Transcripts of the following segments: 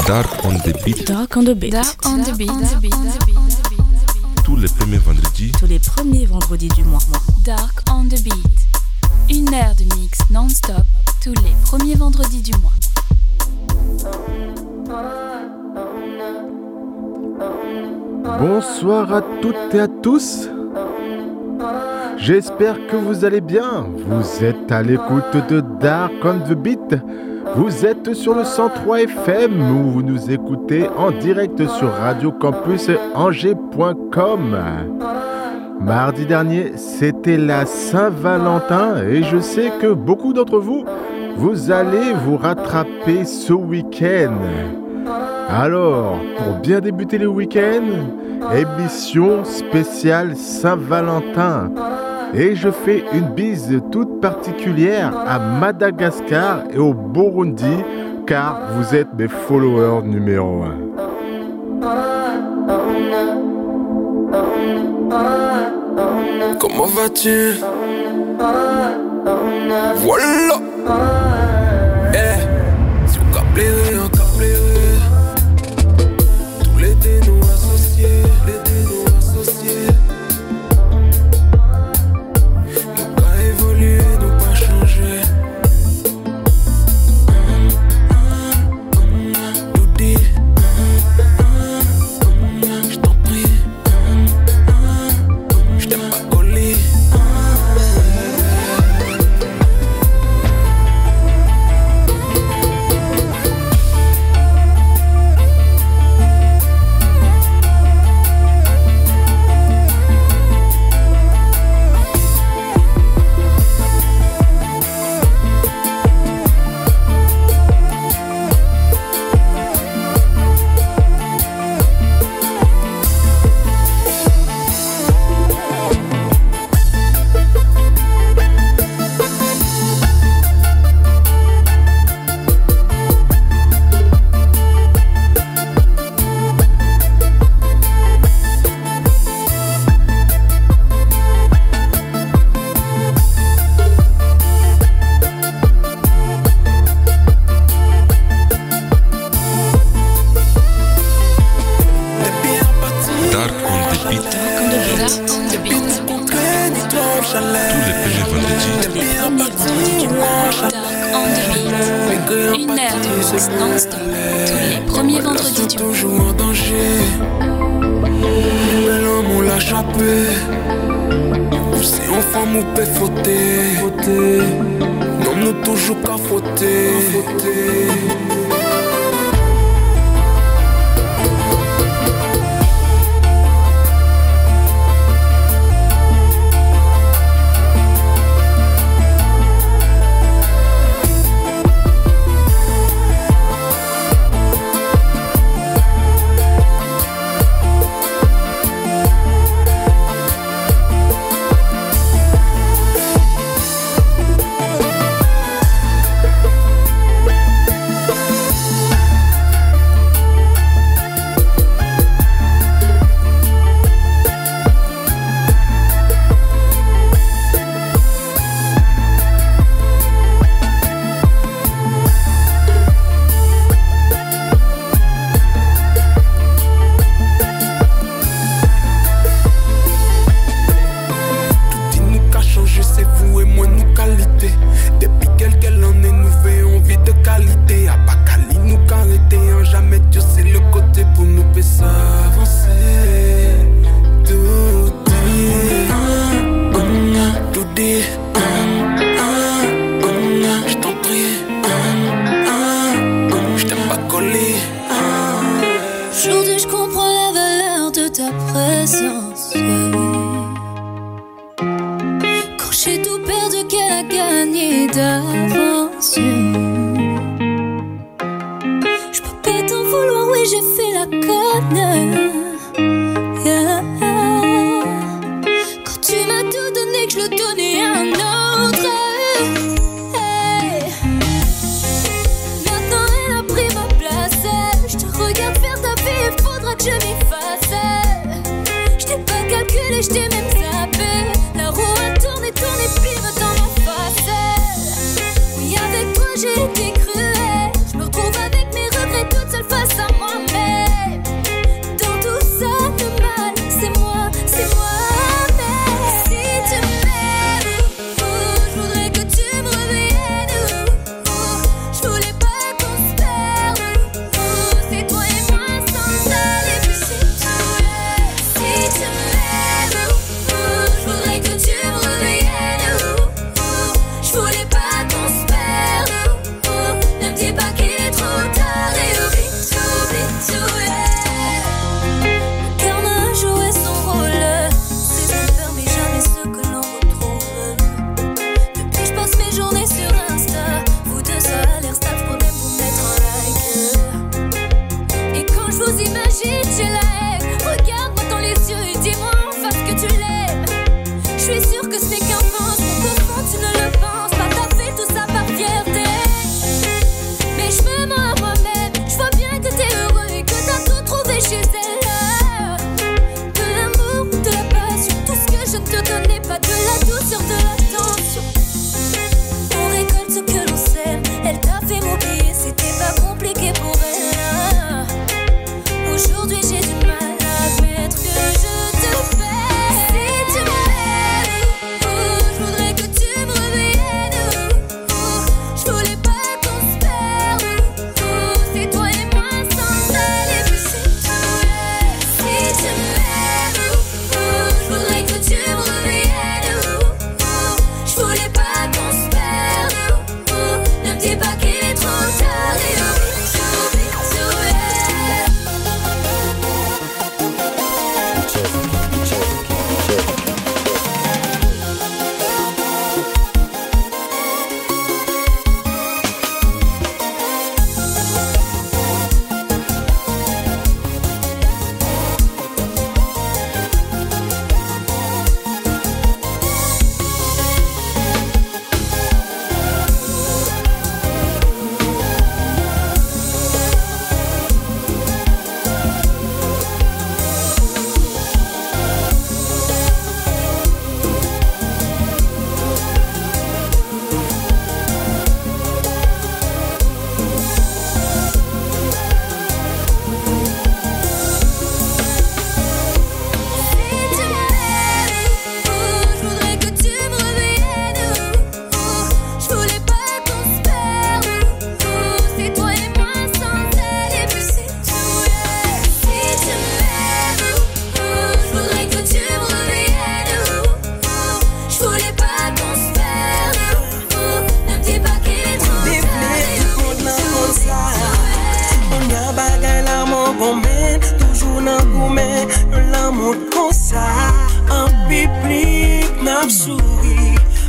Dark on the beat. Dark on the beat. Dark on the beat. Tous les premiers vendredis. Tous les premiers vendredis du mois. Dark on the beat. Une heure de mix non-stop tous les premiers vendredis du mois. Bonsoir à toutes et à tous. J'espère que vous allez bien. Vous êtes à l'écoute de Dark on the Beat. Vous êtes sur le 103 FM où vous nous écoutez en direct sur radiocampusangers.com. Mardi dernier, c'était la Saint-Valentin et je sais que beaucoup d'entre vous, vous allez vous rattraper ce week-end. Alors, pour bien débuter le week-end, émission spéciale Saint-Valentin. Et je fais une bise toute particulière à Madagascar et au Burundi, car vous êtes mes followers numéro 1. Comment vas-tu? Voilà. Si vous capez, on capé. Tous les dés nous associés, nous pas évolué, nous pas changé. Tout dit, je t'en prie, je t'aime pas collé. Je t'ai même zappé. La roue a tourné, puis me dans ma face. Oui, avec toi j'ai été cruelle. Je me retrouve avec mes regrets toute seule face à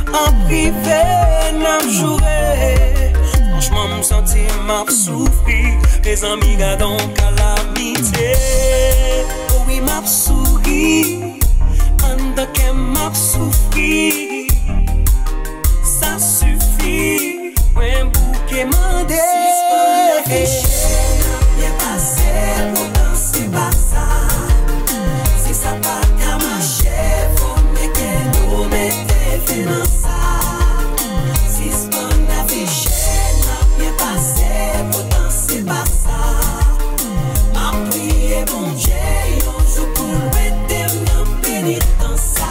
En privé, n'a joué. Franchement, mon senti m'a souffri. Les amis gardent calamité. Oh oui, m'a souri. En de qu'elle m'a souffri. Ça suffit. Un bouquet mandé. Bien passé, pourtant c'est pas ça. Si ça pas qu'à marcher, faut que nous mettez fin dans ça. Si ce qu'on a fiché, n'a bien passé, pourtant c'est pas ça. M'a prié bon Dieu, un jour pour mettre bien béni dans ça.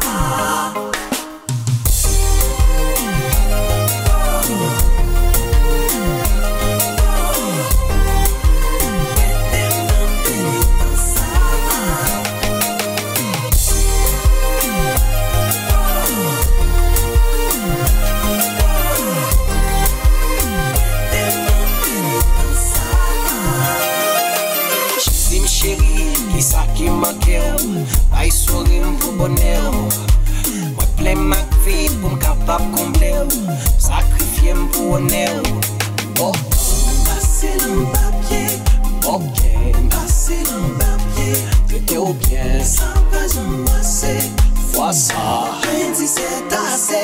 Ay sourire pour bonheur. Moi plein ma vie pour me capable combler. Sacrifier pour honneur. Oh, passer dans papier. Ok, passer dans papier. T'étais au bien. Ça pas embrasser. Vois ça. Rien dit c'est assez.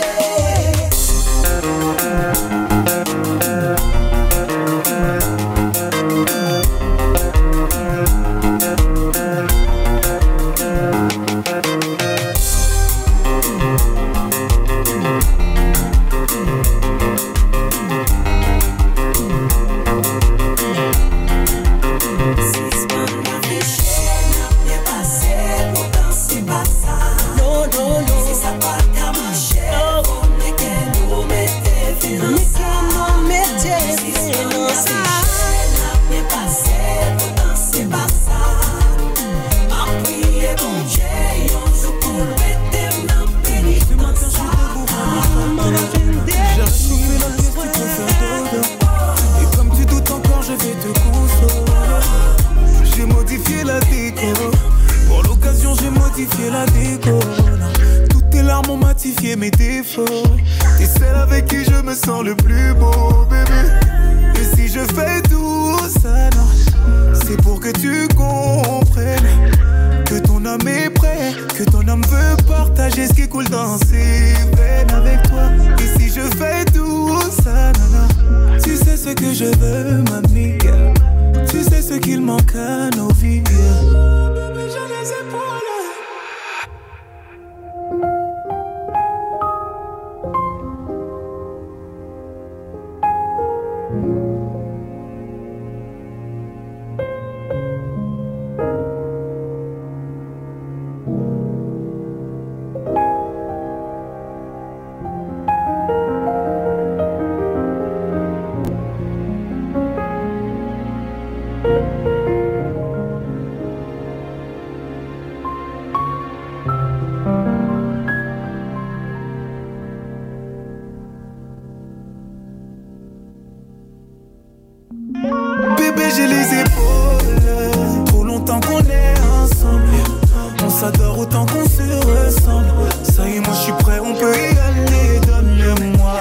Mes défauts, t'es celle avec qui je me sens le plus beau, bébé. Et si je fais tout ça, non, c'est pour que tu comprennes que ton âme est prêt, que ton âme veut partager ce qui coule dans ses veines avec toi. Et si je fais tout ça, non, tu sais ce que je veux, mamie. Tu sais ce qu'il manque à nos vies. Bébé, j'ai les épaules. J'ai les épaules, trop longtemps qu'on est ensemble. On s'adore autant qu'on se ressemble. Ça y est, moi je suis prêt, on peut y aller. Donne-le-moi,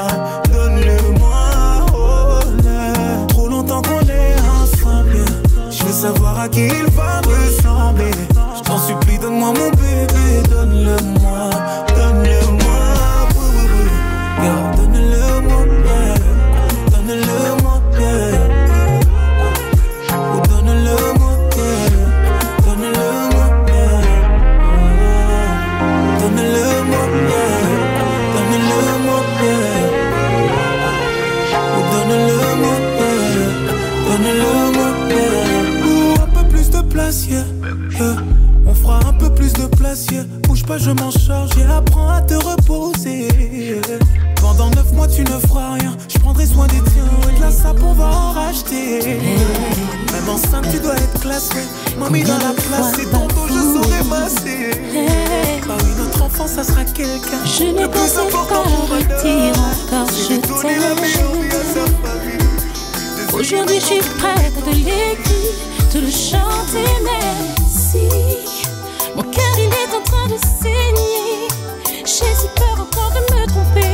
oh là. Trop longtemps qu'on est ensemble. Je veux savoir à qui il va ressembler. Je t'en supplie, donne-moi mon bébé. Donne-le-moi, donne-le-moi, yeah, donne-le-moi, yeah. Donne-le-moi, yeah. On fera un peu plus de place, yeah. Bouge pas, je m'en charge, yeah. Apprends à te reposer, yeah. Pendant 9 mois tu ne feras rien. Je prendrai soin des tiens et de la sape on va en racheter. Même enceinte tu dois être classée. Mamie dans la place et ton dos je saurai masser. Bah oui, notre enfant ça sera quelqu'un. Je n'ai pas pensé partir encore, je t'aime. Aujourd'hui je suis prête à te l'écrire, te le chanter, mais si mon cœur il est en train de saigner, j'ai si peur encore de me tromper.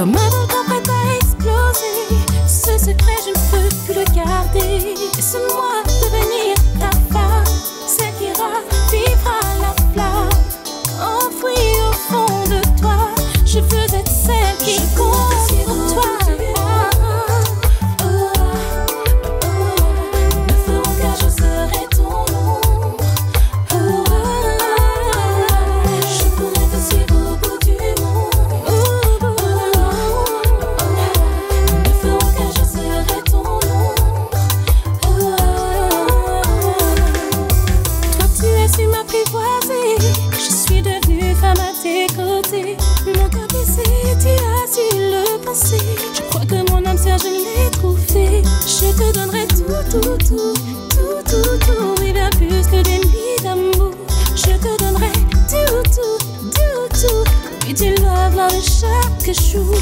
Comme un volcan prêt à exploser, ce secret je ne peux plus le garder. Laisse-moi devenir ta femme, celle qui ravivra la flamme enfouie au fond de toi. Je veux être celle qui compte pour toi. Ne feront qu'un jour serai ton ombre. Je pourrais te suivre au bout du monde. Ne feront qu'un jour serai ton ombre. Toi tu as su m'apprivoiser. Je suis devenue femme à tes côtés. Mon cœur brisé, tu as su le penser. Je crois que mon âme sœur, je l'ai trouvée. Je te donnerai tout, et bien plus que des nuits d'amour. Je te donnerai tout, et tu love chaque jour.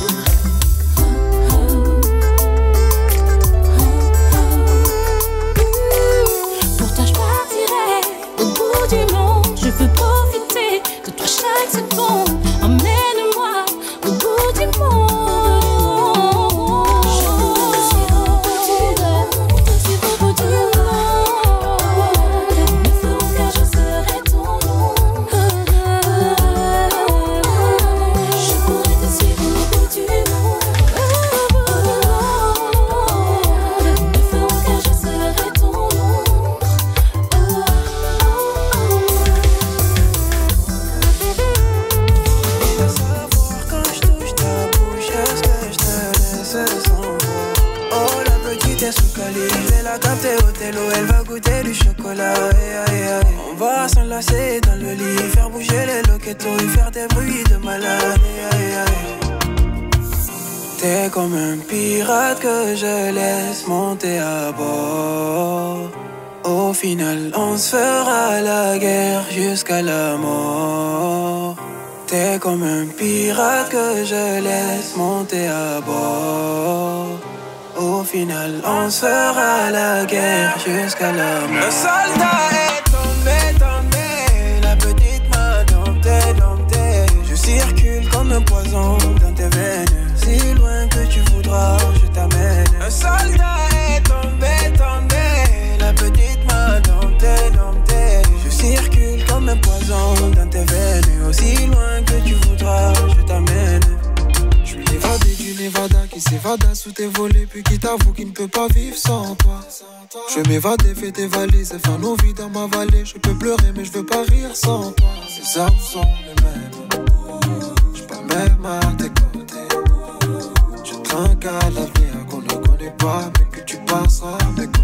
Pour toi, je partirai au bout du monde. Je veux profiter de toi chaque seconde. Emmène-moi au bout du monde. Ne feront qu'un jour serai ton ombre. Je pourrais te suivre au bout du monde. Ne feront qu'un jour serai ton ombre. Quand je touche ta bouche, est-ce que je te laisse sans voix? Oh, la petite est sous calibre, je vais la capter au télo, elle va goûter du chocolat. On va s'enlacer dans le lit, faire bouger les loquetos et faire des bruits de malade. T'es comme un pirate que je laisse monter à bord. Au final, on se fera la guerre jusqu'à la mort. T'es comme un pirate que je laisse monter à bord. Au final, on se fera la guerre jusqu'à la mort. Le soldat est tombé, la petite m'a dompté. Je circule comme un poison dans tes veines. Si loin que tu voudras, je t'amène. Un soldat est tombé, la petite m'a dompté. Je circule comme un poison dans tes veines. Aussi loin que tu voudras, je t'amène. Je suis l'évadé du Nevada qui s'évada sous tes volets, puis qui t'avoue qu'il ne peut pas vivre sans toi. Je vais m'évader, fais tes valises et faire nos vies dans ma vallée. Je peux pleurer mais je veux pas rire sans toi. Ces armes sont les mêmes, je pas même à tes côtés. Je trinque à l'avenir qu'on ne connaît pas, mais que tu passeras à mes côtés.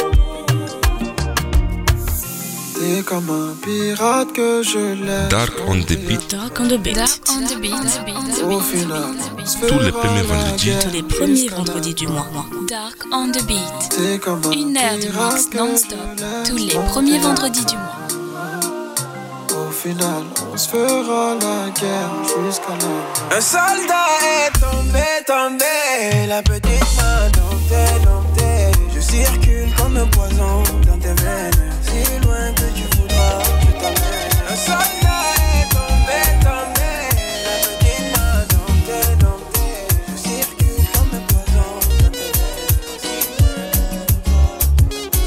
T'es comme un pirate que je laisse. Dark on the beat. Dark on the beat. Au final, Tous les premiers vendredis. Tous les premiers vendredis du mois. Dark on the beat. t'es comme un Une heure de pirate mix que non-stop. je laisse Tous les monter premiers à vendredis du mois. Au final, on se fera la guerre jusqu'à la. Un soldat est tombé, la petite m'a dompté. Je circule comme un poison dans tes veines. Si loin que tu voudras, je t'amène. Un soldat est tombé, la petite m'a dompté. Je circule comme un poison dans tes veines. Si loin que tu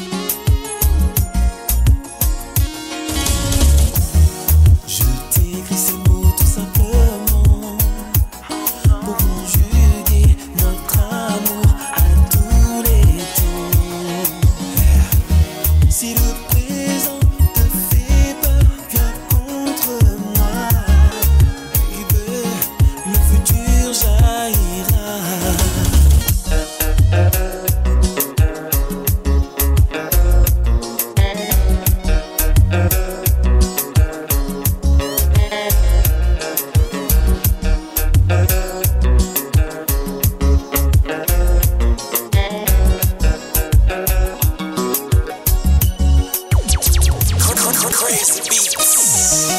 voudras. Je t'écris ces mots tout simplement pour conjuguer notre amour à tous les temps. Si le présent te fait peur, viens contre moi, baby, le futur jaillira. Crazy beats.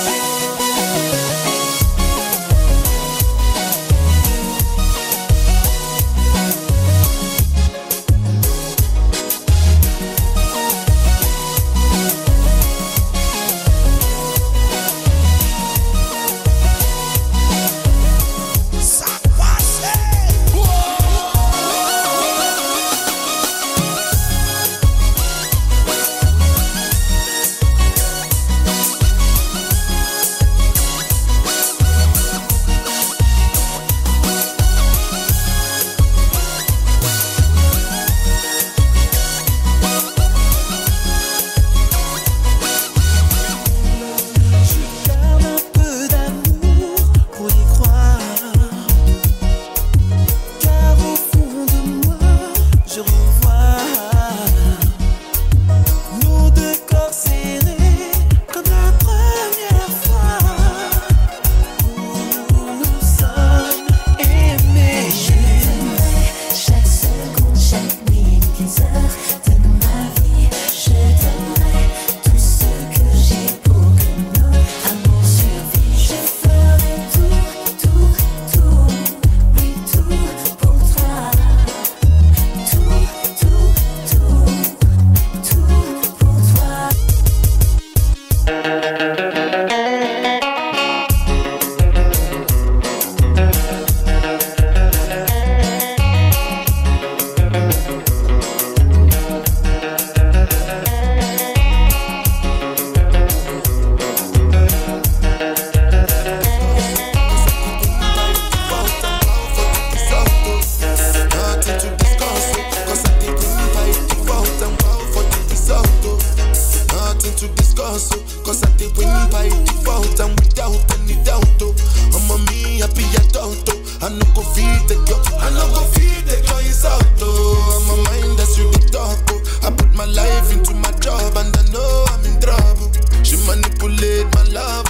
I did win by default and without any doubt. I'm a me happy adult. I no go feed the girl, I no go feed the girl insult. I'm a mind that's really dark. I put my life into my job and I know I'm in trouble. She manipulate my love.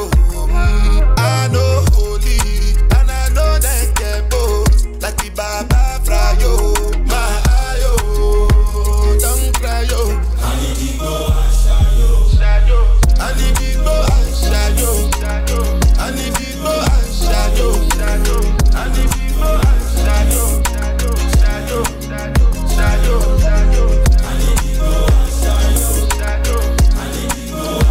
I know holy and I know that get both. Like the Baba Frayo, my ayo, don't cry yo. I need to go and shayo. I need to go and shayo. I need to go and shayo. I need to go and shayo. Shayo. I need to go and shayo. I need to go and shayo. I need to go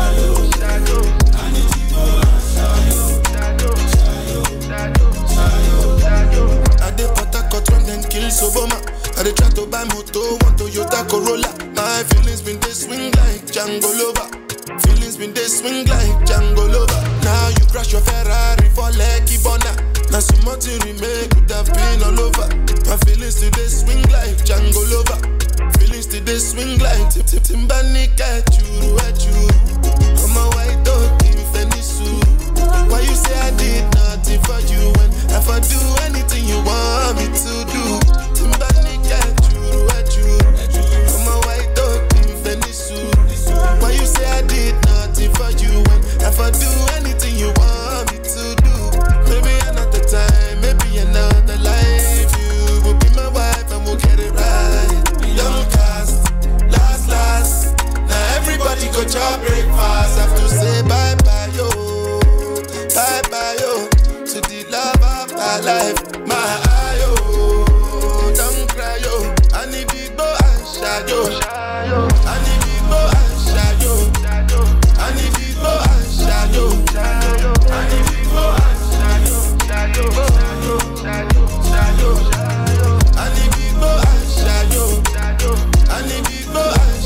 and shayo. I dey put a cut run then kill Soboma. I dey try to buy moto, one Toyota Corolla. My feelings been they swing like Django Lover. Feelings been they swing like Django Lover. Now you crash your Ferrari for Lucky Bona. Now some more to remake could have been all over. My feelings today swing like Django Lover. Feelings today swing like Timbani at you. I'm a white dog in Venice. Why you say I did nothing for you when if I do anything you want me to do? Timbani at you. I'm a white dog in Venice. Why you say I did nothing for you when if I do anything you want me to do? Maybe another time, maybe another life. You will be my wife and we'll get it right. Young cast, last. Now everybody go job breakfast. Have to say bye-bye yo. Bye-bye yo. To the love of my life. My ayo, don't cry yo. I need to go and shayo. I need to go and shayo. I need to go and shayo. I need to go and shayo. I need to go and shayo. I need to go and shayo. I need to go and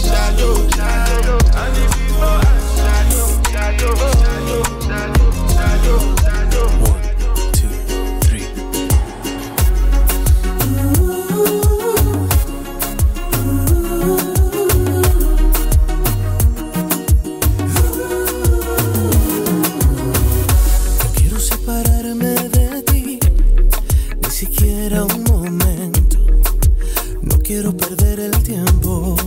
shayo. 1, 2, 3. No quiero separarme de ti, ni siquiera un momento. No quiero perder el tiempo.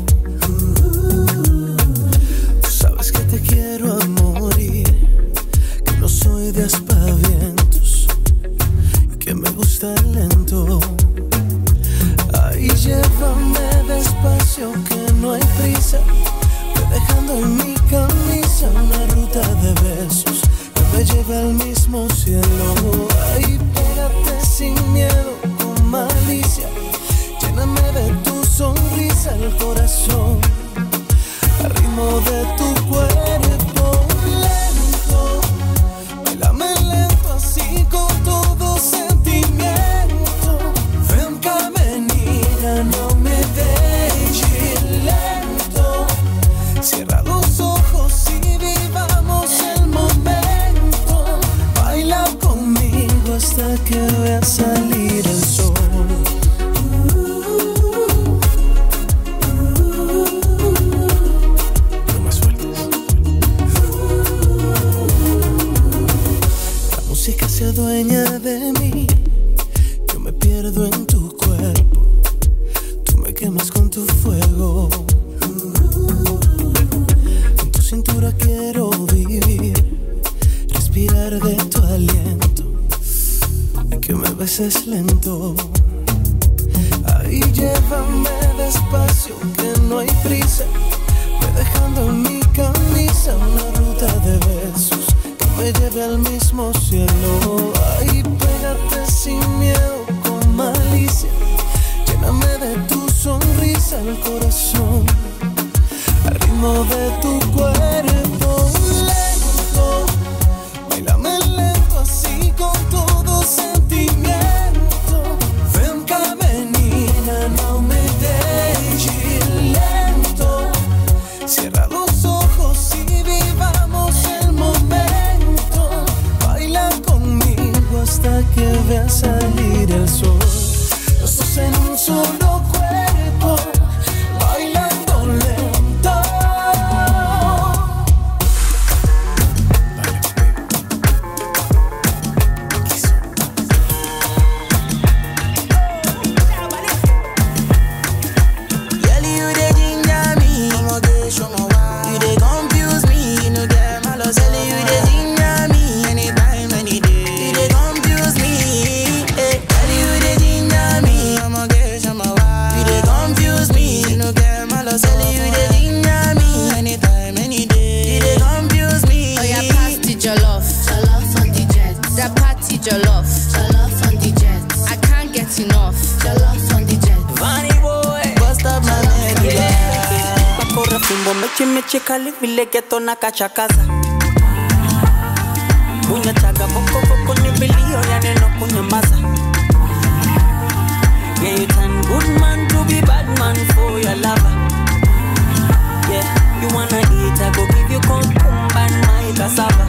Tú sabes que te quiero a morir, que no soy de aspavientos y que me gusta lento. Ahí llévame despacio, que no hay prisa. Voy dejando en mi camisa una ruta de besos que me lleve al mismo cielo. Ahí pégate sin miedo, con malicia. Lléname de tu sonrisa el corazón, al ritmo de tu cuerpo lento. Bailame lento así con todo sentimiento. Ven caminina, no me dejes lento. Cierra los ojos y vivamos el momento. Baila conmigo hasta que vea salir el sol. Se adueña de mí, yo me pierdo en tu cuerpo, tú me quemas con tu fuego. En tu cintura quiero vivir, respirar de tu aliento y que me beses lento. Ahí llévame despacio, que no hay prisa. Voy dejando en mi camisa una ruta de besos me lleve al mismo cielo. Ahí pégate sin miedo, con malicia. Lléname de tu sonrisa el corazón, al ritmo de tu cuerpo lento. Bailame lento así con todo sentimiento. Ven caminina, no me dejes lento. Cierra los ojos y vivamos el momento. Hasta que vea salir el sol. Los dos en un solo cuerpo, bailando lento. Chimechikali vile geto na kachakaza Bunya chaga boko boko ni bilio ya neno kunyamaza Yeah, you turn good man to be bad man for your lover Yeah, you wanna eat, I go give you cucumber and my cassava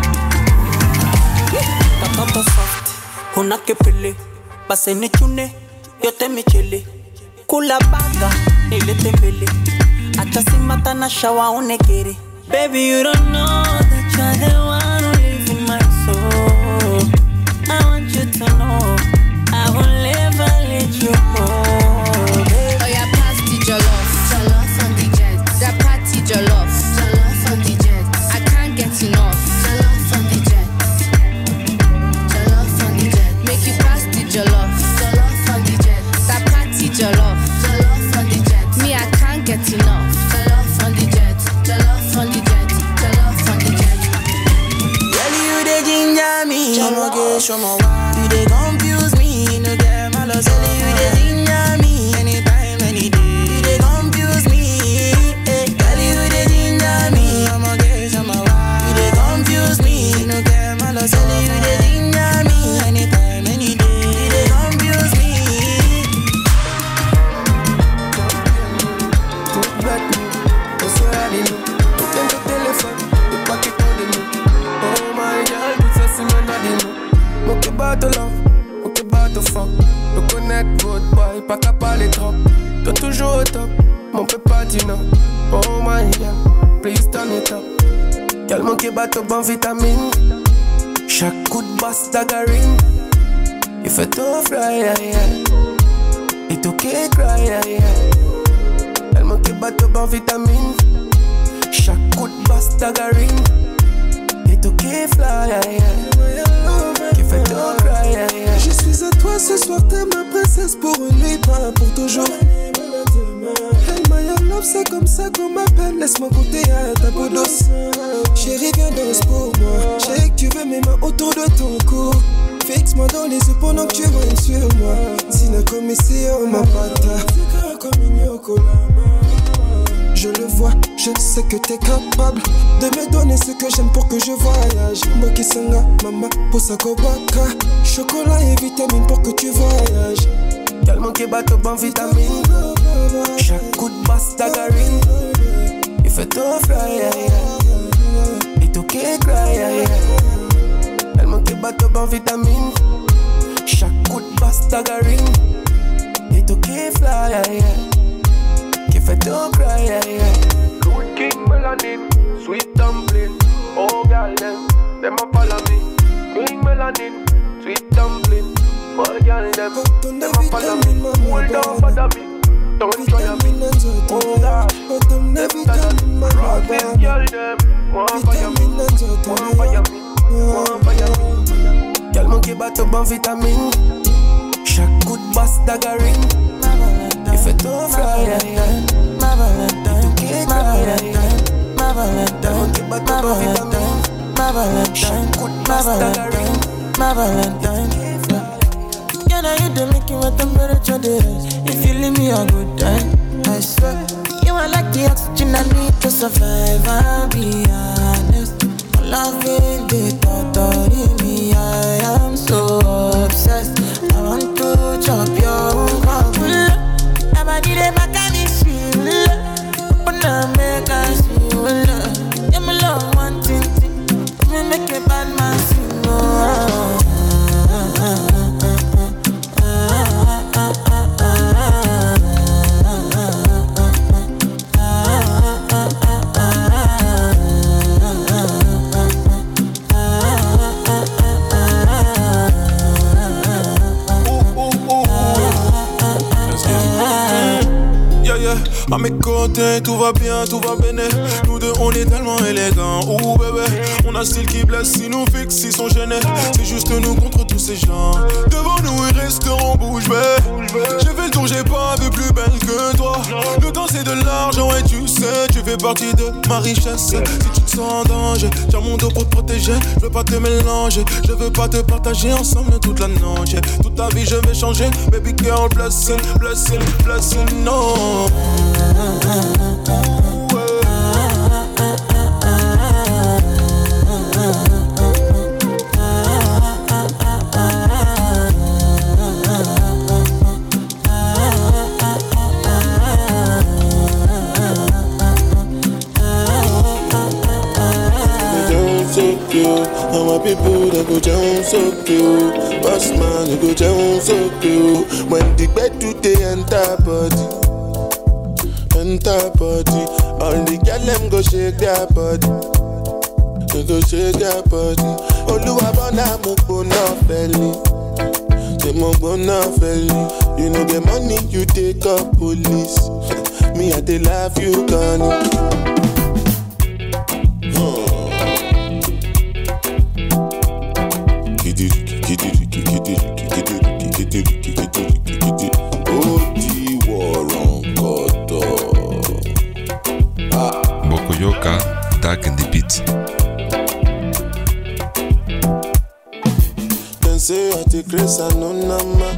Katoto soft, huna kipili Base ni chune, yote michili Kula baga, nilete mbili Acha simata na shawa unekiri Baby, you don't know that you're the one who lives in my soul I want you to know I will never let you go baby. Oh yeah, pass the jollof on the jet That party jollof on the jet I can't get enough Jollof on the jet Make you pass the jollof on the jet That party jollof on the jet Me, I can't get enough Jollof on the jet Jollof on the jet Girl, you dey ginger me show me why you dey confuse me No get my love, girl, you dey ginger me Anytime, any day You dey confuse me Girl, you dey ginger me show me why you dey confuse me No get my love, girl, you dey ginger me Anytime, any day You dey confuse me Tout bête, on se rallume Tout plein de téléphone, de paquets qu'on dénoue Oh my God, tout ça c'est mon adino Moque about the love, moque about the fuck Le connaître votre boy, pas qu'à parler trop Toi toujours au top, mon peu pas du non Oh my God, please turn it up Y'a moque about the bon vitamine Chaque coup de basse d'agarine Il fait tout fly, yeah, yeah It okay, cry, yeah, yeah Elle manque bateau bon vitamine Chaque coup de basse d'agarine Et tout qui fly, yeah, yeah Qui fait tout cry, yeah, yeah Je suis à toi ce soir, t'es ma princesse pour une nuit, pas pour toujours Hey my love, c'est comme ça qu'on m'appelle Laisse-moi goûter à ta peau douce Chérie, viens danse pour moi Je sais que tu veux mes mains autour de ton cou Fixe-moi dans les yeux pendant que tu règnes sur moi Sinon comme ici, oh ma pata comme une je le vois, je sais que t'es capable De me donner ce que j'aime pour que je voyage Moki sanga, mama, posako baka Chocolat et vitamine pour que tu voyages Calme qui bateau bon vitamine Chaque coup de basse d'agarine Il fait tout fly, yeah, yeah Et tout qui cry, yeah, yeah Calme qui bateau bon vitamine Chaque coup de basse d'agarine Et tout qui fly, yeah, yeah Qui fait tout cry, yeah, yeah Good king melanin, sweet dumpling Oh, girl, them a follow me King melanin, sweet dumpling Oh, girl, them a follow me Hold on, bother me Don't try me Oh, gosh Them follow me Rock this girl, them Want fire me Want fire me Want fire me Girl, monkey bateau bon vitamine Chaque coup de basse d'agarine Il fait tout fly, yeah, yeah Ma Valentine, ma Valentine, ma Valentine, ma Valentine, ma Valentine, ma Valentine, ma Valentine. Yeah, now you do make you what temperature is. If you leave me a good time, I swear. You are like the oxygen I need to survive. I'll be honest. My love in the thought of me. I am so obsessed. I want to chop your heart. I'm a need a make us feel love. Yeah, my love one thing. Me make a bad man sing. À mes côtés, tout va bien, tout va béné. Nous deux, on est tellement élégants. Ouh bébé, on a style qui blesse, si nous fixe, ils sont gênés. C'est juste nous contre tous ces gens. Devant nous, ils resteront bouche bée. J'ai fait le tour, j'ai pas vu plus belle que toi. Le temps, c'est de l'argent et tu sais, tu fais partie de ma richesse. Si tu te sens en danger, tiens mon dos pour te protéger. Je veux pas te mélanger, je veux pas te partager ensemble toute la noche. Toute ta vie, je vais changer. Baby girl, blessing, blessing, blessing, no. soak you. And my people, they go down soak you. Boss man, they go down soak you. When the bed do they enter body. All the girl them go shake their body. They go shake their body. Oluwabona mo gbona feli. They mo gbona feli. You know the money you take up police. Me I dey love you gone. Bokoyoka, Dark and the Beat. Then say I take grace and no nama.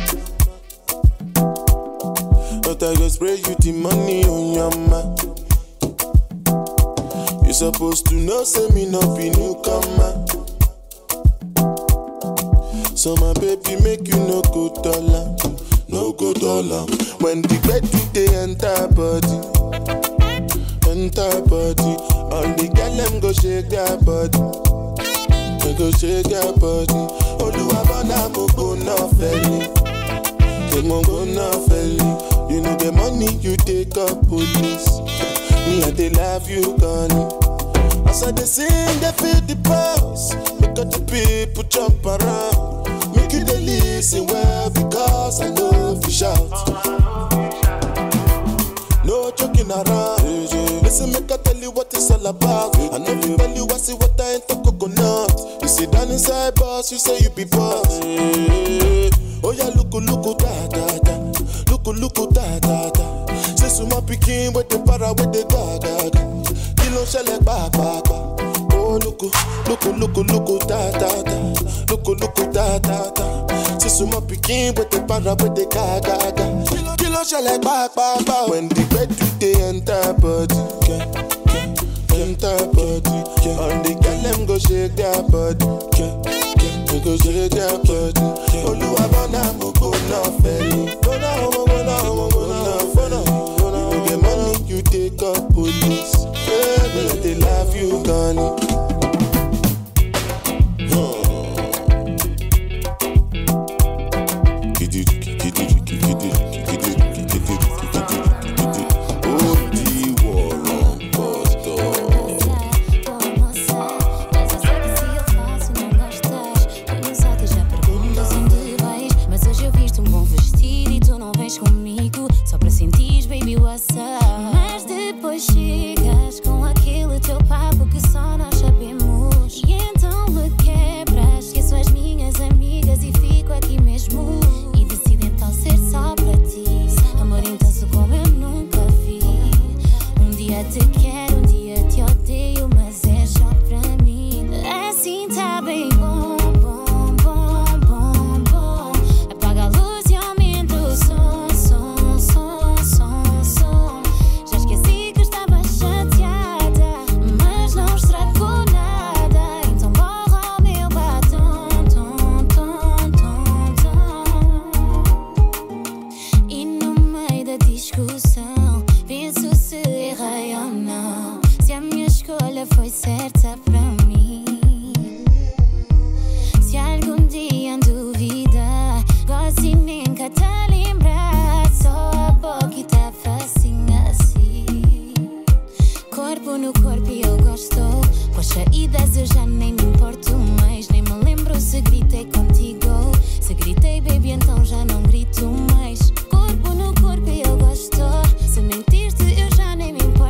But I go spray you the money on your ma. You supposed to know, say me not be newcomer. So my baby make you no go dollar. No go dollar. When the bed do they enter body. All the girl them go shake their body. They go shake their body. Oluwabona mo go na feli. They mo go na feli. You know the money you take up police. Me I dey love you gone. As I dey sing, they feel the pulse. Make all the people jump around. Make you dey listen well because I know if you shout. No joking around. Listen, make I tell you what it's all about. I know you tell you I see what I ain't the coconut. You sit down inside boss, you say you be boss. Oh yeah, look da da da. Look da da da. Say so my pikin with the para with the ga ga ga. Kilo shele ba ba ba. Oh look da da da. Look da da da. Say so my pikin with the para with the ga ga ga. Kilo shele ba ba ba. When the bed do they enter body, enter body. All the girl them go shake their body, they go shake their body. Oluwabona mo go na feli. Go na. The money you take up police. Baby, they love you gone. Mas depois chegas com aquele teu papo que só nós sabemos. E então me quebras, esqueço as minhas amigas e fico aqui mesmo. E decido então ser só para ti. Amor intenso como eu nunca vi. Um dia te quero, um dia te odeio, mas é só para mim. Assim tá bem bom. Apaga a luz e aumenta o som. Foi certa pra mim. Se algum dia duvidar, gosto nem cá te lembrar. Só a boca tá facinho assim. Corpo no corpo e eu gosto. Com as saídas eu já nem me importo mais. Nem me lembro se gritei contigo. Se gritei baby então já não grito mais. Corpo no corpo e eu gosto. Se mentiste eu já nem me importo.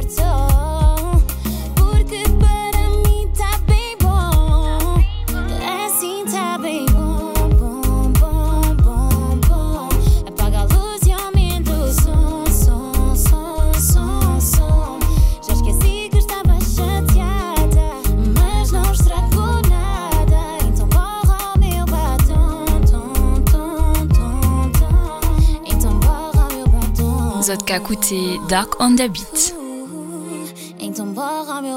Zotka Kouté, Dark on the Beat. Então borra meu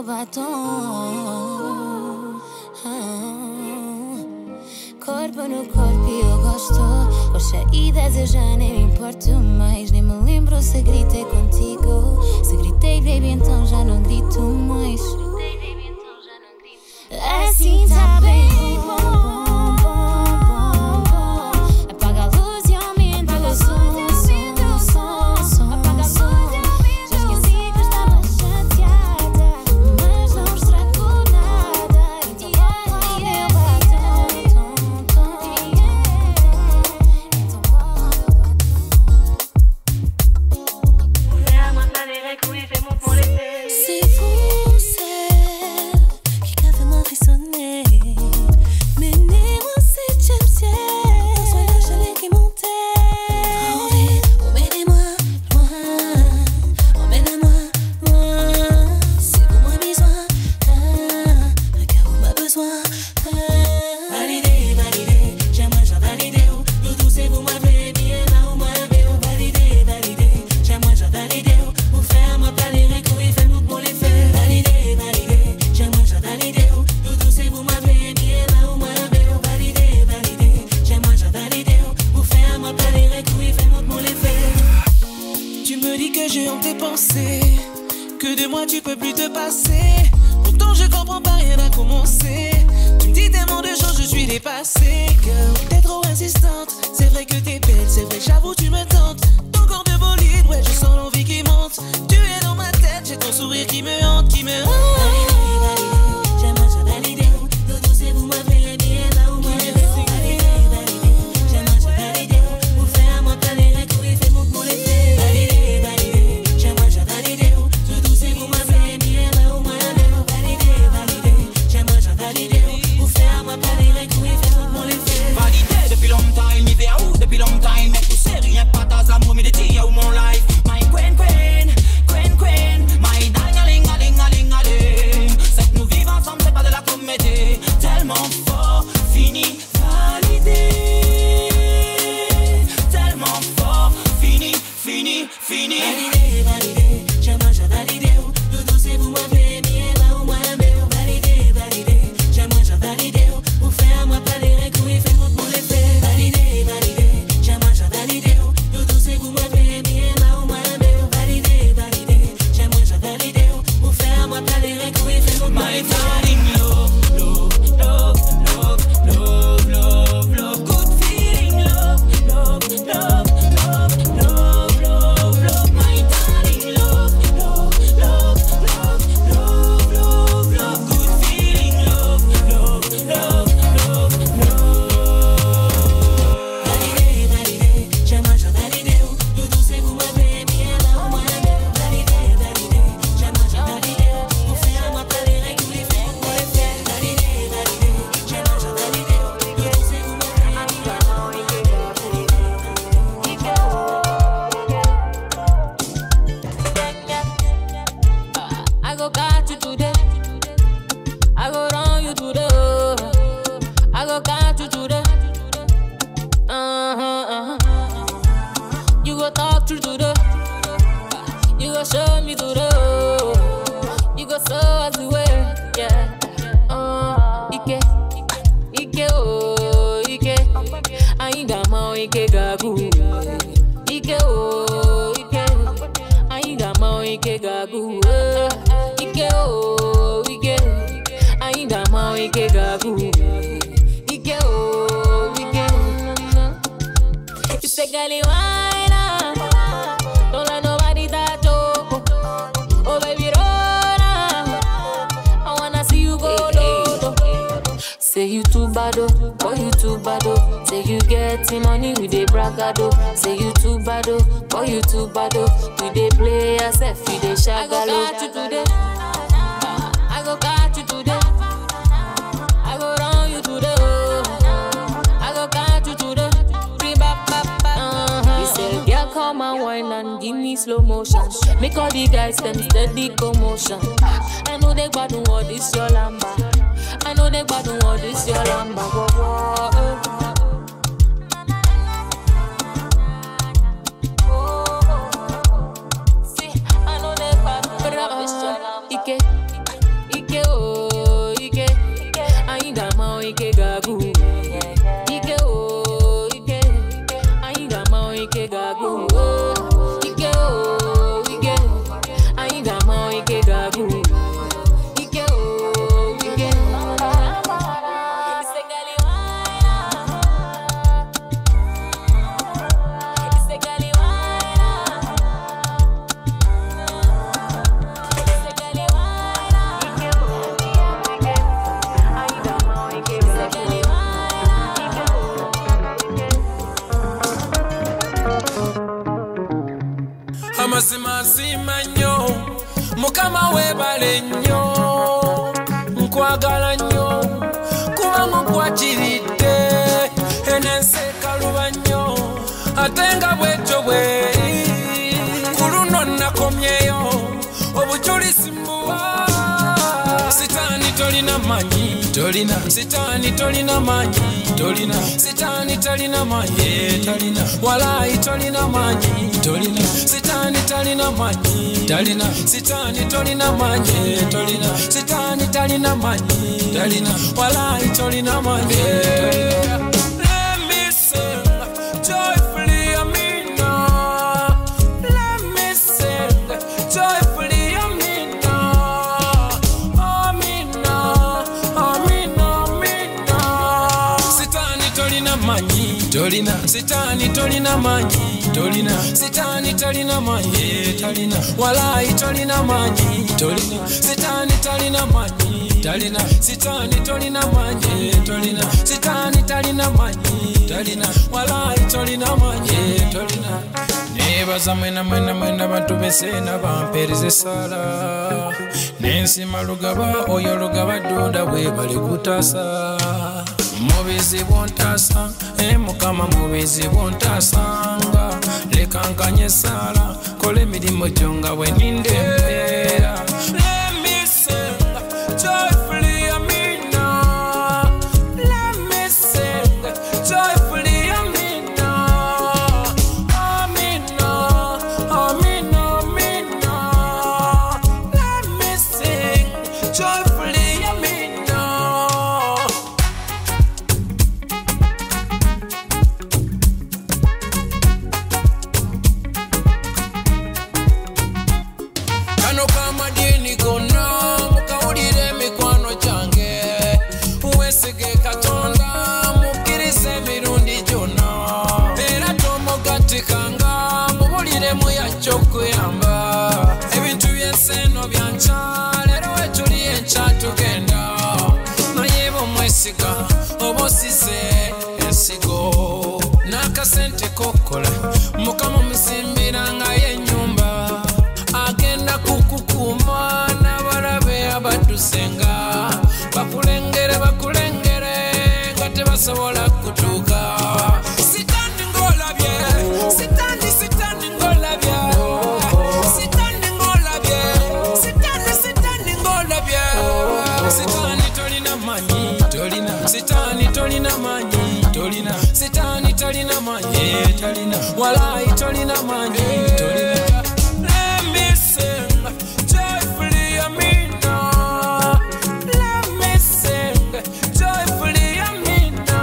batom. Corpo no corpo e eu gosto. Com as saídas eu já nem me importo mais. Nem me lembro se gritei contigo. Se gritei baby então já não grito mais. Assim soir. Validé, validé, j'aimerais déjà valider. Nous tous et vous m'avez bien là où moi validé, validé, j'aimerais déjà valider. Vous faire moi pas les récouilles, fait nous pour les faire. Validé, validé, j'aimerais déjà valider. Nous tous et vous m'avez bien là où moi validé, validé, j'aimerais déjà valider. Vous faire moi pas les récouilles, fait nous pour les faire. Tu me dis que j'ai honte tes pensées, que de moi tu peux plus te passer. Pourtant je comprends pas, rien à commencer. Tu me dis tellement de choses, je suis dépassée. Girl, t'es trop insistante. C'est vrai que t'es belle, c'est vrai, j'avoue tu me tentes. Ton corps de bolide, ouais je sens l'envie qui monte. Tu es dans ma tête, j'ai ton sourire qui me hante, qui me hante. Validé, validé, j'aimerais déjà valider. Nous tous et vous m'avez bien là où moi validé, validé, j'aimerais déjà valider. Vous faire moi pas les récouilles, fais mon pour les faire. Validé, validé, j'aimerais déjà valider. Nous tous et vous m'avez bien là où moi validé, validé, j'aimerais déjà valider. Vous faire moi pas les récouilles, fais mon pour les faire. Validé depuis longtemps, il fait où depuis longtemps. Mais tu sais rien, pas dans l'amour, mais de tia ou mon life. My queen, queen, queen, queen. My darling, aling, aling, aling. C'est que nous vivons ensemble, c'est pas de la comédie. Tellement fort, fini, validé. Tellement fort, fini, fini, fini. Validé, validé, j'aimerais déjà valider. Nous tous et vous m'avez bien là où moi validé, validé, j'aimerais déjà valider. Vous faire moi pas les récouilles, fais mon pour les faire. Validé, validé, j'aimerais déjà valider. Nous tous et vous m'avez bien là où moi validé, validé, j'aimerais déjà valider. Vous faire moi pas les récouilles, fais mon pour les faire. Love, love, love, love, love, good feeling, love, love, love, love, love, love, love, my darling, love, love, love, love, love, love, love, good feeling, love, love, love, love, love. Validé, validé, j'aimerais déjà valider. Nous tous et vous m'avez bien là où moi validé, validé, j'aimerais déjà valider. Vous faire moi pas les récouilles, fais pour les faire. Validé, validé, j'aimerais déjà valider. Nous tous et vous m'avez bien là où I go catch you today. I go run you today. I go catch you today. You go talk through today. You go show me today. You go show us the way. Yeah. Ike, Ike, oh, Ike. Ainda mau Ike gagu. Ike, oh, Ike. Ainda mau Ike gagu. Ike, oh, Ike. Ainda mau Ike gagu. Ike, oh, Ike. You say, girlie, why not? Don't let nobody touch you. Oh, baby, roll on. I wanna see you go low. Say you too bad, oh, boy, you too bad, oh. Say you getting money with the bragado. Say you too bad, oh, boy, you too bad, oh. You dey play yourself, you dey shagalo. I go catch you today. I go catch you today. I go run you today. I go catch you today. He said, girl, come and wine and give me slow motion. Make all the guys them steady commotion. I know they bad all this your lamba. I know they bad all this your lamba. Whoa, whoa, See, I know they bad all this your lamba. Ike, Ike, oh, Ike. Ainda mau Ike gagu. Ike, oh, Ike. Ainda mau Ike gagu. Ike, oh, Ike. Ainda mau Ike gagu. Ike, oh, Ike. Ise gali waina. Ise gali waina. Ise gali waina. Ike, oh, Ike. Ainda mau Ike gagu. Ise gali amasimasima nnyo mukama weebale nnyo nkwagala nnyo kuba mukwakiridde enensi ekaluba nnyo ate nga bwetyo bweri ku luno nakomyeyo obujulisi mbuwa sitaani tolina manyi tolina sitani tolina manyi tolina sitani talina manyi talina walai tolina manyi tolina sitani talina manyi talina sitani tolina manyi tolina sitani talina manyi talina walai tolina manyi tolina. Let me sing joyfully Amina. Let me sing joyfully Amina. Amina, Amina, Amina. Sitani tolina manyi tolina sitani tolina manyi tolina sitani talina manyi talina walai tolina manyi tolina sitani talina manyi talina sitani tolina manyi tolina sitani talina manyi talina walai tolina manyi tolina. Nebaza mwena bantu besena bampereze sala nensima lugaba oyo lugaba dunda bwe bali kutasa mubizi bontasa mukama mubizi bontasanga leka nkanye sala kola emirimu gyo nga bwe ninde embeera. Let me sing joyfully Amina. Let me sing joyfully Amina. Amina, Amina, Amina. Let me sing joyfully Amina. Kano kama dini kona mukawulire mikwano gyange wesige katonda mukkirize emirundi gyonna era tomugatikanga mubuliremu yajja okuyamba ebintu by'ensi eno byankya leero wetuli enkya tugenda naye bomwesiga oba osize ensigo n'akasente kokola mukama musimbira ngayo ennyumba agenda kukukuma n'abalabe abadusenga bakulengere nga tebasobola kutuuka. Sitandi ng'olabye sitandi ng'olabye sitandi ng'olabye sitandi ng'olabye sitani tolina manyi tolina sitani tolina manyi tolina sitani talina manyi talina walai tolina manyi tolina. Let me sing joyfully Amina. Let me sing joyfully Amina.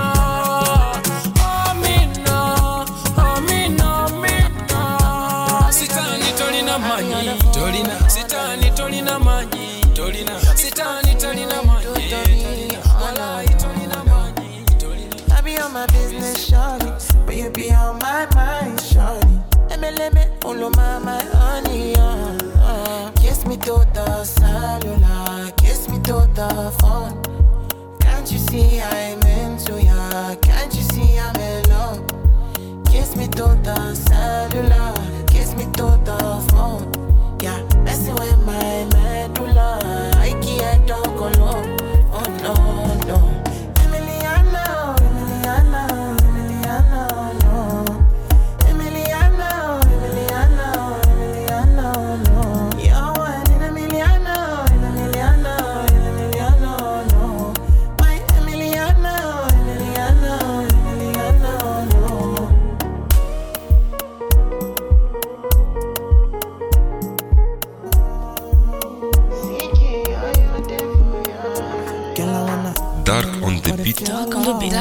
Amina, Amina, Amina. Sitani tolina manyi tolina sitani tolina manyi tolina sitani talina manyi tolina walai tolina manyi tolina. I be on my business, shawty, but you be on my mind, shawty. Let me, all of my honey, kiss me to the cellular, kiss me to the phone. Can't you see I'm into ya? Can't you see I'm in love? Kiss me to the cellular, kiss me to the phone. Yeah, messing with my medulla, I can't talk alone. Oh no, no. Emiliano, Emiliano, Emiliano, no. Emiliano, Emiliano, Emiliano, no. You're one in a million, in a million, in a million, no. My Emiliano, Emiliano, Emiliano, no. Dark on the beat. Dark on the beat.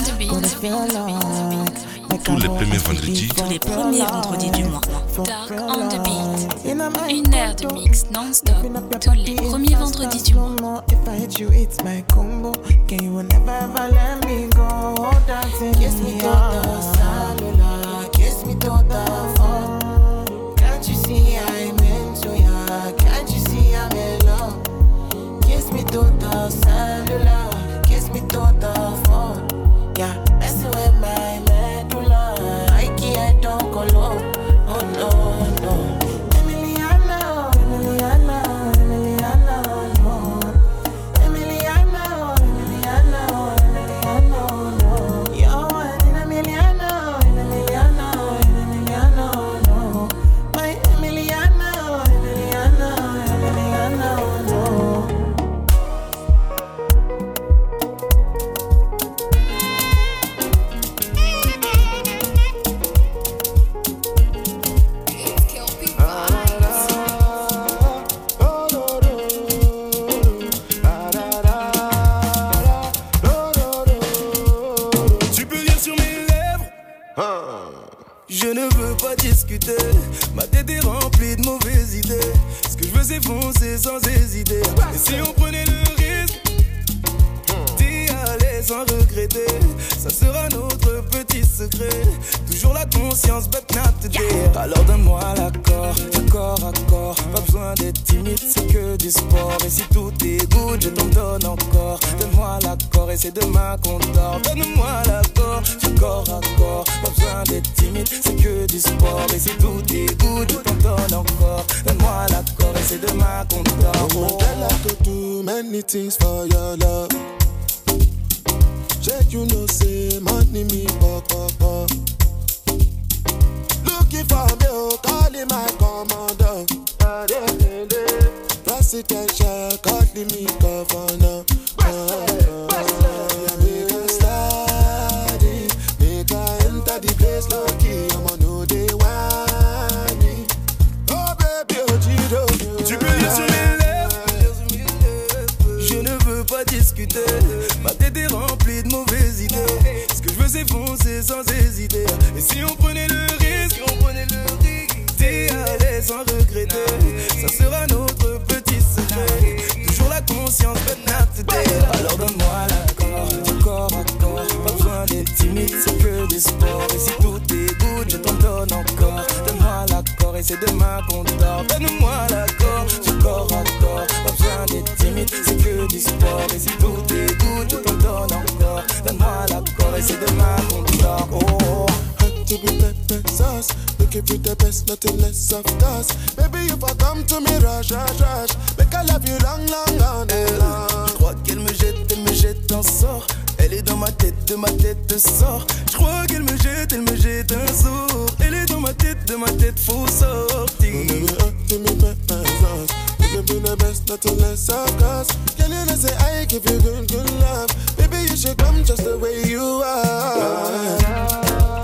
Tous les premiers vendredis. Tous les premiers vendredis du mois. Dark on the beat. Une heure de mix non-stop. Tous les premiers vendredis du mois. If I hit you, it's my combo. Can you never ever let me go? Dancing kiss me to the cellular, kiss me to the phone. Can't you see I'm into ya? Can't you see I'm in love? Kiss me to the cellular, kiss me to the phone. Yeah, messing with my medulla, I can't talk alone. Oh no, no. Emiliano, Emiliano, Emiliano, no. Emiliano, Emiliano, Emiliano, Je ne veux pas discuter, ma tête est remplie de mauvaises idées. Ce que je veux c'est foncer sans hésiter. Et si on prenait le risque d'y aller sans regretter, ça sera notre petit secret. Toujours la conscience, but not today. Alors donne-moi l'accord, du corps à corps. Pas besoin d'être timide, c'est que du sport. Et si tout est good, je t'en donne encore. Donne-moi l'accord et c'est demain qu'on dort. Donne-moi l'accord, du corps à corps. Pas besoin d'être timide, c'est que du sport. Et si tout est good, je t'en donne encore. Donne-moi l'accord et c'est demain qu'on dort. Oh, girl, I could do many things for your love. Check, you know, say money me pop. Looking for me, oh, calling my commander. Presidential, calling me governor. Make a study, make a enter the place lucky. I'ma know they want me. Oh baby, oh Gido. Tu peux lire sur mes lèvres. Je ne veux pas discuter. Ma tête est remplie de mauvaises idées. Ce que je veux c'est foncer sans hésiter. Et si on prenait le risque, d'y aller sans regretter, ça sera notre petit secret. Toujours la conscience, but not today. Alors donne-moi l'accord, du corps à corps. Pas besoin d'être timide, c'est que du sport. Et si tout est good, je t'en donne encore. Donne-moi l'accord et c'est demain qu'on dort. Donne-moi l'accord, du corps à corps. Pas besoin d'être timide, c'est que du sport. Et si tout est good, je t'en donne encore. Donne-moi l'accord et c'est demain qu'on dort. Oh. To be pepper sauce, looking for the best, nothing less of course. Baby, if I come to me, rush, make I love you long. Je crois qu'elle me jette un sort. Elle est dans ma tête, de ma tête sort. Je crois qu'elle me jette un sort. Elle est dans ma tête, faut sortir. To me pepper sauce, looking for the best, nothing less of course. Can you not say I give you good love? Baby, you should come just the way you are.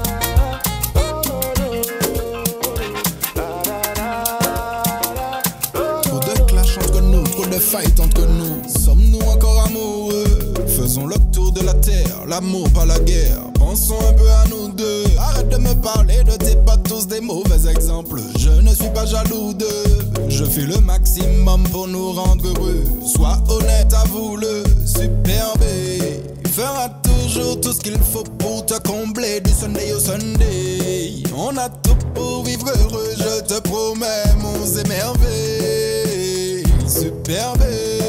De fight entre nous, sommes-nous encore amoureux? Faisons le tour de la terre, l'amour pas la guerre. Pensons un peu à nous deux. Arrête de me parler de tes pas tous des mauvais exemples. Je ne suis pas jaloux d'eux. Je fais le maximum pour nous rendre heureux. Sois honnête, avoue-le, superbe. Fera toujours tout ce qu'il faut pour te combler du Sunday au Sunday. On a tout pour vivre heureux, je te promets, mon émerveille. Superbe,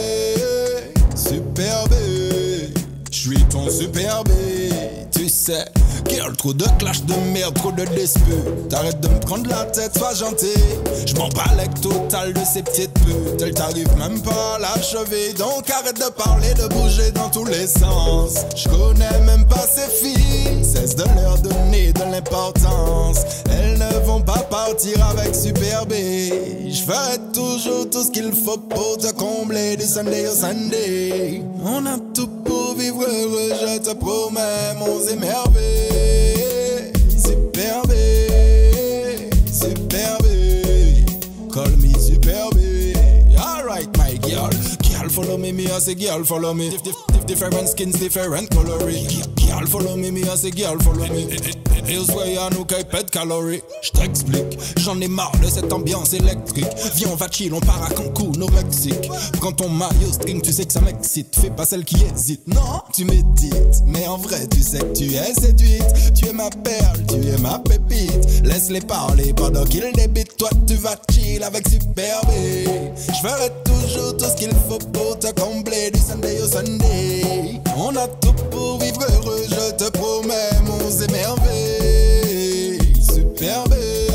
superbe, j'suis ton superbe, tu sais. Girl, trop de clash de merde, trop de disputes. T'arrêtes de me prendre la tête, sois gentil. J'm'en bats avec total de ces petites putes. Elles t'arrivent même pas à l'achever. Donc arrête de parler, de bouger dans tous les sens. J'connais même pas ces filles. Cesse de leur donner de l'importance. Elles ne vont pas partir avec Superbe. J'ferai toujours tout ce qu'il faut pour te combler du Sunday au Sunday. On a tout pour vivre heureux, je te promets, mon émerveille. Superbe, superbe, call me superbe. Alright, my girl. Girl, follow me, me I say girl, follow me. Different skins, different coloring. Girl, follow me, me I say girl, follow me. Here's where y'a nous qui pète calories. J't'explique, j'en ai marre de cette ambiance électrique. Viens, on va chill, on part à Cancun au Mexique. Prends ton maillot string, tu sais que ça m'excite. Fais pas celle qui hésite, non, tu médites. Mais en vrai, tu sais que tu es séduite. Tu es ma perle, tu es ma pépite. Laisse-les parler pendant qu'ils débitent. Toi, tu vas chill avec Superbe. J'ferai toujours tout ce qu'il faut pour te combler du Sunday au Sunday. On a tout pour vivre heureux, je te promets, mon émerveille. Superbe,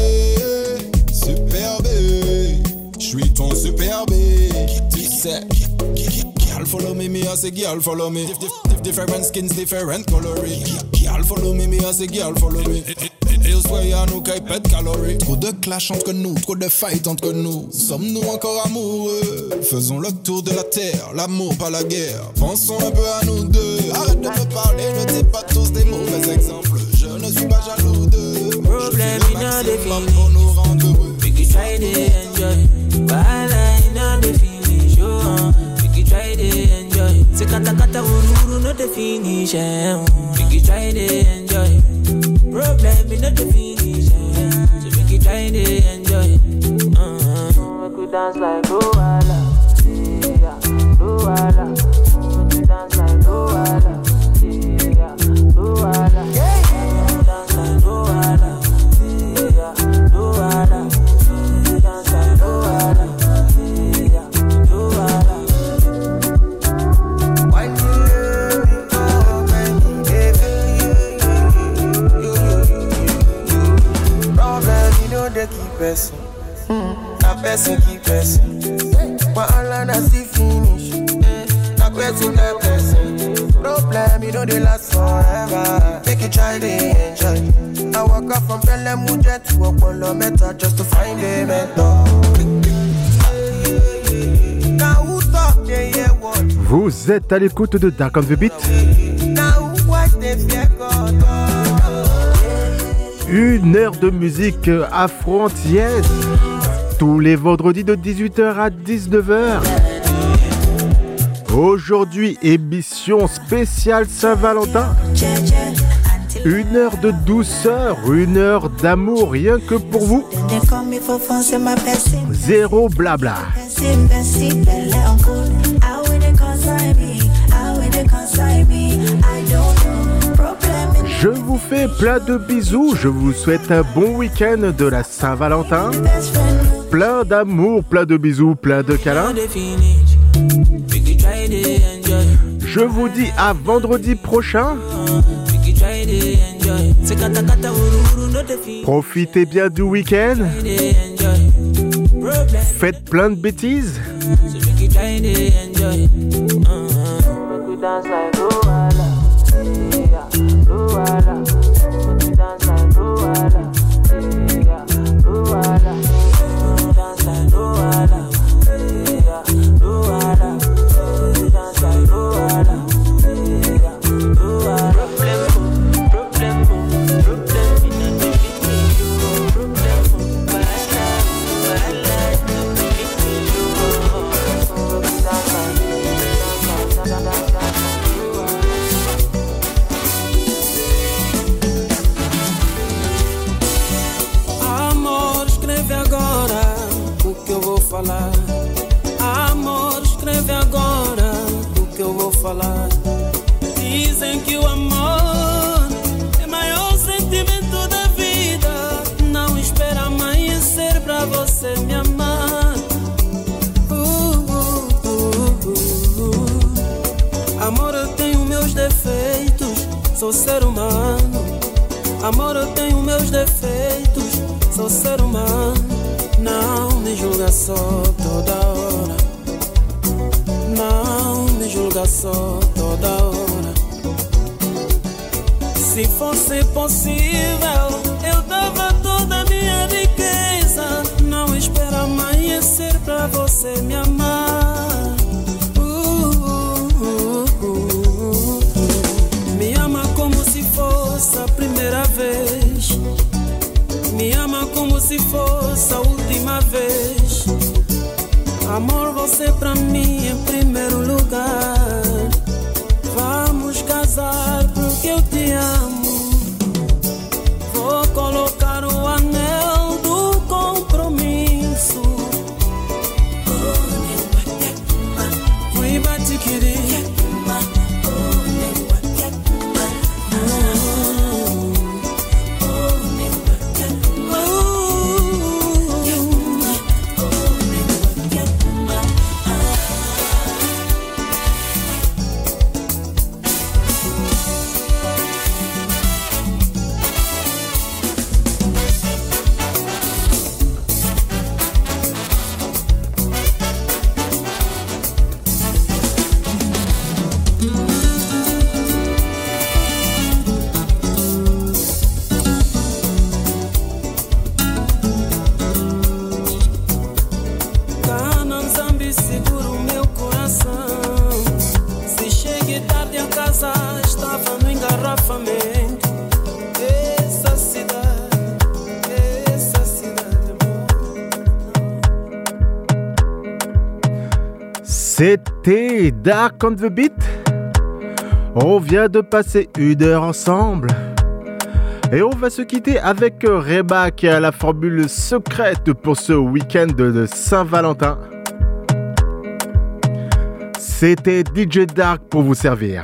superbe, j'suis ton superbe. Tu sais, girl follow me, me I say girl follow me. Different skins, different coloring. Girl follow me, me I say girl follow me. Here's where y'a nous qui pète calories. Trop de clash entre nous, trop de fight entre nous. Sommes-nous encore amoureux? Faisons le tour de la terre, l'amour pas la guerre. Pensons un peu à nous deux. Arrête de me parler, ne dis pas tous des mauvais exemples. Je ne suis pas jaloux d'eux. Problem in the feeling. We can try to enjoy. Bala in the finish. We can try to enjoy. Se kata kata ururu no the finish. We can try to enjoy. Problem in the finish. dance like Luala, yeah, Luala. Make you dance like Luala, yeah, Luala. Dance like Luala, yeah, Luala. Dance like Luala, yeah, Luala. Why do you go problem, you know they keep person. That person keep person. But all I see finish. That person that person. Problem, you know they last forever. Make you try to enjoy. I walk up from Pelham Mujet to Apollo Meta just to find a mentor. Now who talk, they hear what? Vous êtes à l'écoute de Dark on the Beat. Now who watch, they fear God. Une heure de musique afro-antillaise. Tous les vendredis de 18h à 19h. Aujourd'hui, émission spéciale Saint-Valentin. Une heure de douceur, une heure d'amour, rien que pour vous. Zéro blabla. Je vous fais plein de bisous, je vous souhaite un bon week-end de la Saint-Valentin. Plein d'amour, plein de bisous, plein de câlins. Je vous dis à vendredi prochain. Profitez bien du week-end. Faites plein de bêtises. Luala, make you dance like Luala, yeah, Luala. Dance like Luala, yeah, Luala. Dance like Luala, yeah, Luala. Problem, in a difficult problem, bad life, falar. Amor, escreve agora o que eu vou falar. Dizem que o amor é o maior sentimento da vida. Não espera amanhecer pra você me amar. Amor, eu tenho meus defeitos, sou ser humano. Amor, eu tenho meus defeitos, sou ser humano. Não me julga só toda hora. Não me julga só toda hora. Se fosse possível, eu dava toda a minha riqueza. Não espera amanhecer pra você me amar. Me ama como se fosse a primeira vez. Me ama como se fosse a última vez. Amor, você pra mim em primeiro lugar. Vamos casar porque eu te amo. Vou colocar o anel do compromisso. Fui batiquiri. C'était Dark on the Beat. On vient de passer une heure ensemble. Et on va se quitter avec Reba qui a la formule secrète pour ce week-end de Saint-Valentin. C'était DJ Dark pour vous servir.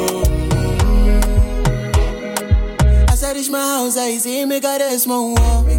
I see me got a small wall.